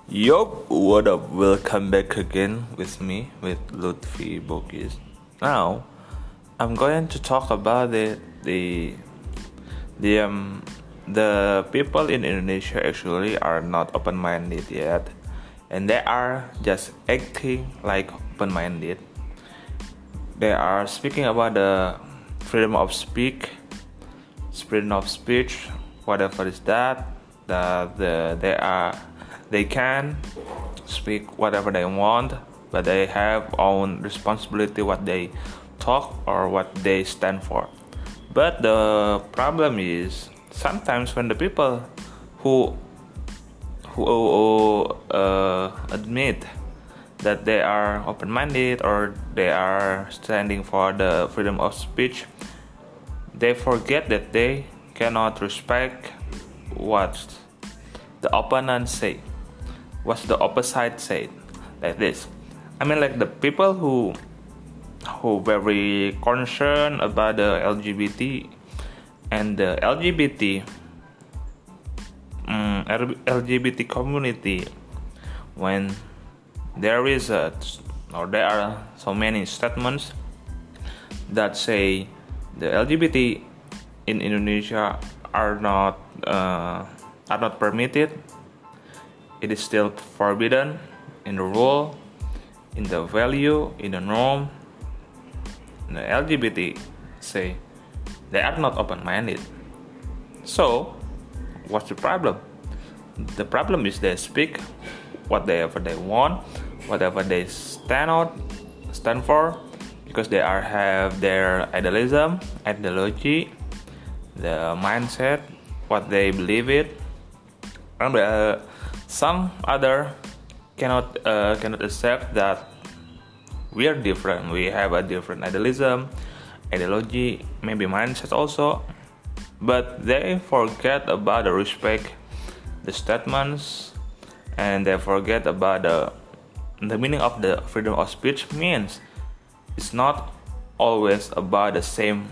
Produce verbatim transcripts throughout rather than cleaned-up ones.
Yup, what up? Welcome back again with me, with Lutfi Bogis. Now, I'm going to talk about it. The the um the people in Indonesia actually are not open-minded yet, and they are just acting like open-minded. They are speaking about the freedom of speak, freedom of speech, whatever is that. That the, they are they can speak whatever they want, but they have own responsibility what they talk or what they stand for. But the problem is sometimes when the people who who uh, admit that they are open-minded or they are standing for the freedom of speech, they forget that they cannot respect what the opponent say, what the opposite say, like this. I mean, like the people who who very concerned about the L G B T and the L G B T um, L G B T community, when there is a or there are so many statements that say the L G B T in Indonesia are not uh, are not permitted. It is still forbidden in the rule, in the value, in the norm. The L G B T say they are not open-minded. So, what's the problem? The problem is they speak whatever they want, whatever they stand out, stand for, because they are have their idealism, ideology, the mindset, what they believe it, and uh, some other cannot uh, cannot accept that we are different. We have a different idealism, ideology, maybe mindset also, but they forget about the respect, the statements, and they forget about the the meaning of the freedom of speech means it's not always about the same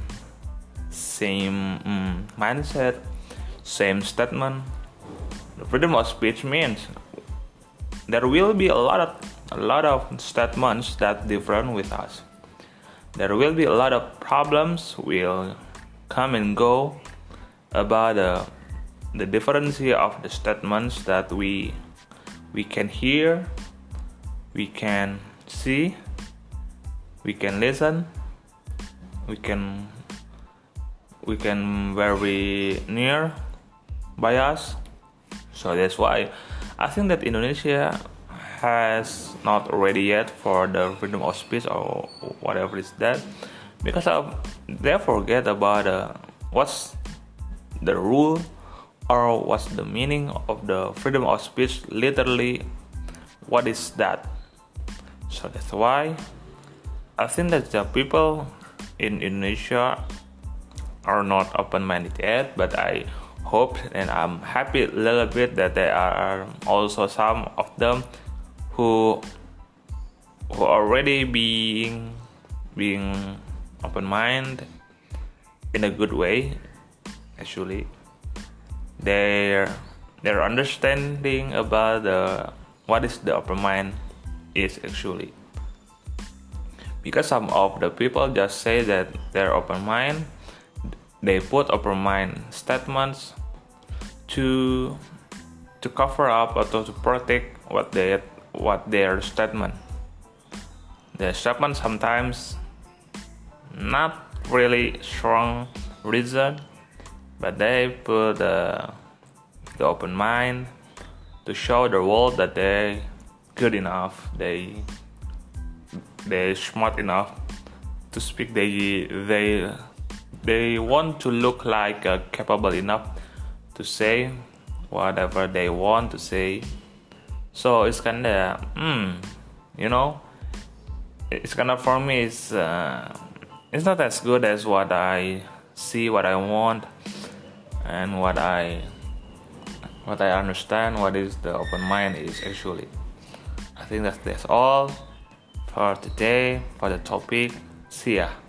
same um, mindset, same statement. The freedom of speech means there will be a lot of a lot of statements that different with us. There will be a lot of problems will come and go about the the difference of the statements that we we can hear, we can see, we can listen, we can we can very near by us. So that's why I think that Indonesia has not ready yet for the freedom of speech or whatever is that, because of they forget about uh, what's the rule or what's the meaning of the freedom of speech. Literally, what is that? So that's why I think that the people in Indonesia are not open-minded yet, but I hope and I'm happy a little bit that there are also some of them who who already being being open-minded in a good way. Actually, their their understanding about the what is the open mind is actually, because some of the people just say that they're open mind. They put open mind statements to to cover up or to protect what they what their statement. Their statement sometimes not really strong reason, but they put uh, the open mind to show the world that they good enough, they they smart enough to speak. They they they want to look like uh, capable enough to say whatever they want to say. So it's kinda, mm, you know, it's kinda for me. It's uh, it's not as good as what I see, what I want, and what I what I understand. What is the open mind is actually. I think that's that's all for today for the topic. See ya.